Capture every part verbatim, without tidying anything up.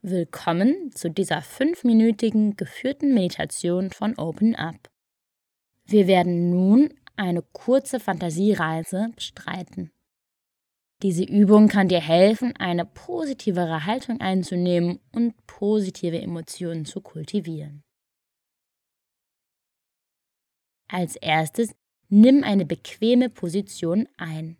Willkommen zu dieser fünfminütigen geführten Meditation von Open Up. Wir werden nun eine kurze Fantasiereise bestreiten. Diese Übung kann dir helfen, eine positivere Haltung einzunehmen und positive Emotionen zu kultivieren. Als erstes nimm eine bequeme Position ein.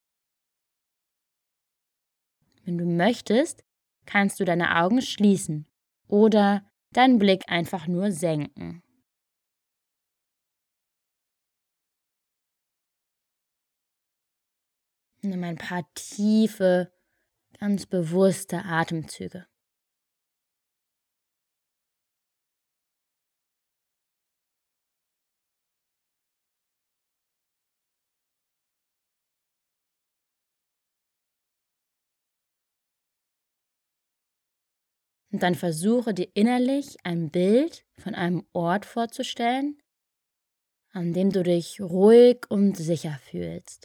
Wenn du möchtest, kannst du deine Augen schließen oder deinen Blick einfach nur senken. Nimm ein paar tiefe, ganz bewusste Atemzüge. Und dann versuche dir innerlich ein Bild von einem Ort vorzustellen, an dem du dich ruhig und sicher fühlst.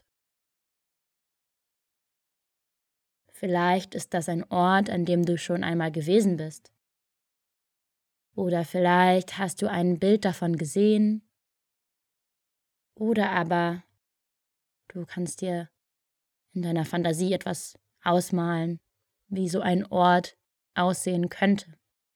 Vielleicht ist das ein Ort, an dem du schon einmal gewesen bist. Oder vielleicht hast du ein Bild davon gesehen. Oder aber du kannst dir in deiner Fantasie etwas ausmalen, wie so ein Ort aussehen könnte.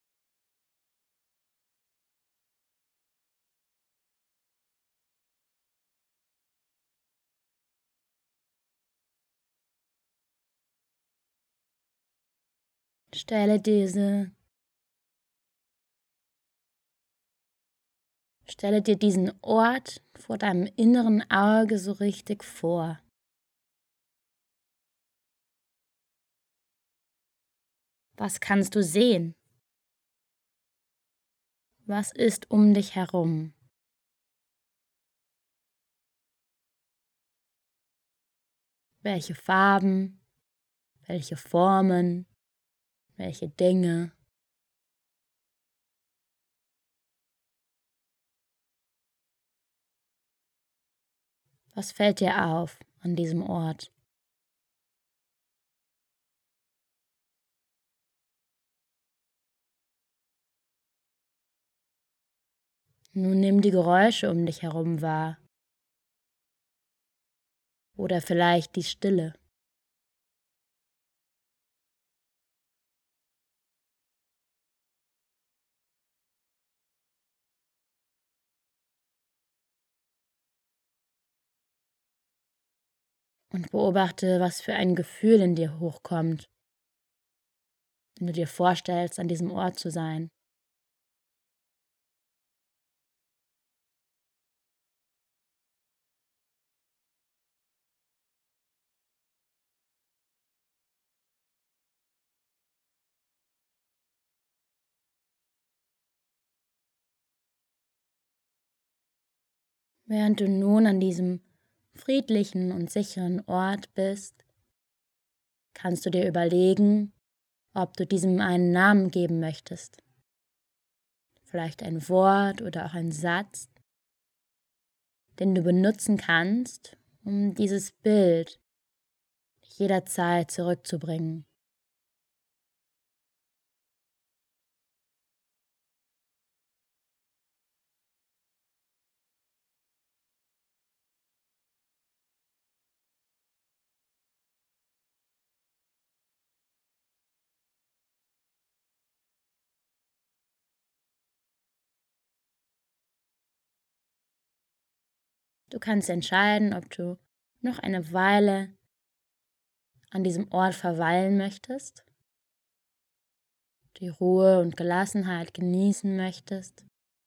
Stelle diese, stelle dir diesen Ort vor deinem inneren Auge so richtig vor. Was kannst du sehen? Was ist um dich herum? Welche Farben? Welche Formen? Welche Dinge? Was fällt dir auf an diesem Ort? Nun nimm die Geräusche um dich herum wahr. Oder vielleicht die Stille. Und beobachte, was für ein Gefühl in dir hochkommt, wenn du dir vorstellst, an diesem Ort zu sein. Während du nun an diesem friedlichen und sicheren Ort bist, kannst du dir überlegen, ob du diesem einen Namen geben möchtest. Vielleicht ein Wort oder auch ein Satz, den du benutzen kannst, um dieses Bild jederzeit zurückzubringen. Du kannst entscheiden, ob du noch eine Weile an diesem Ort verweilen möchtest, die Ruhe und Gelassenheit genießen möchtest.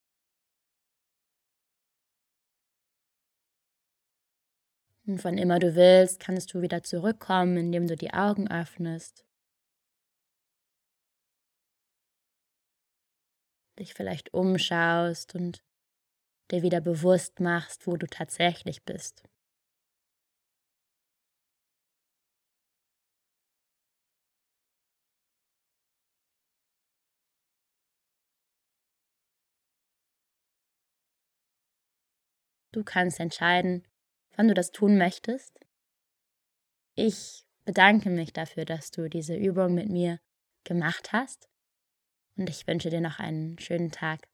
Und wann immer du willst, kannst du wieder zurückkommen, indem du die Augen öffnest, dich vielleicht umschaust und dir wieder bewusst machst, wo du tatsächlich bist. Du kannst entscheiden, wann du das tun möchtest. Ich bedanke mich dafür, dass du diese Übung mit mir gemacht hast. und ich wünsche dir noch einen schönen Tag.